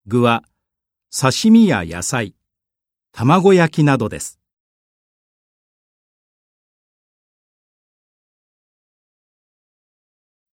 具は刺身や野菜、卵焼きなどです。